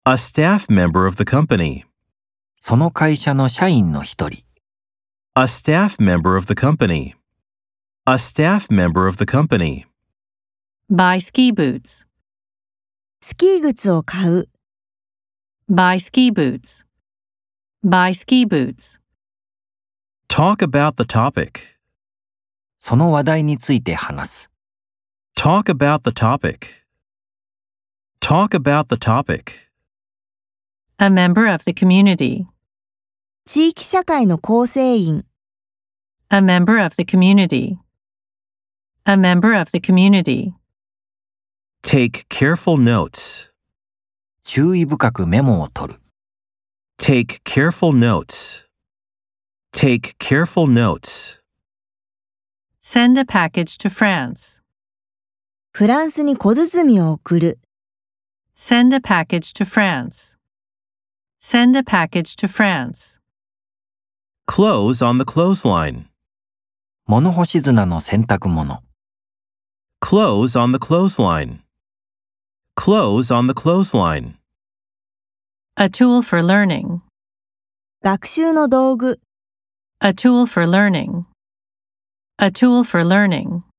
A staff member of the company. その会社の社員の一人。 A staff member of the company. A staff member of the company. Buy ski boots. スキー靴を買う。 Buy ski boots. Buy ski boots. Talk about the topic. その話題について話す。 Talk about the topic. Talk about the topic. A member of the community. 地域社会の構成員。 A member of the community. A member of the community. Take careful notes. 注意深くメモを取る。 Take careful notes. Take careful notes. Send a package to France. フランスに小包を送る。 Send a package to France. Send a package to France. Clothes on the clothesline. 物干し砂の洗濯物。 Clothes on the clothesline. Clothes on the clothesline. A tool for learning. 学習の道具。 A tool for learning. A tool for learning.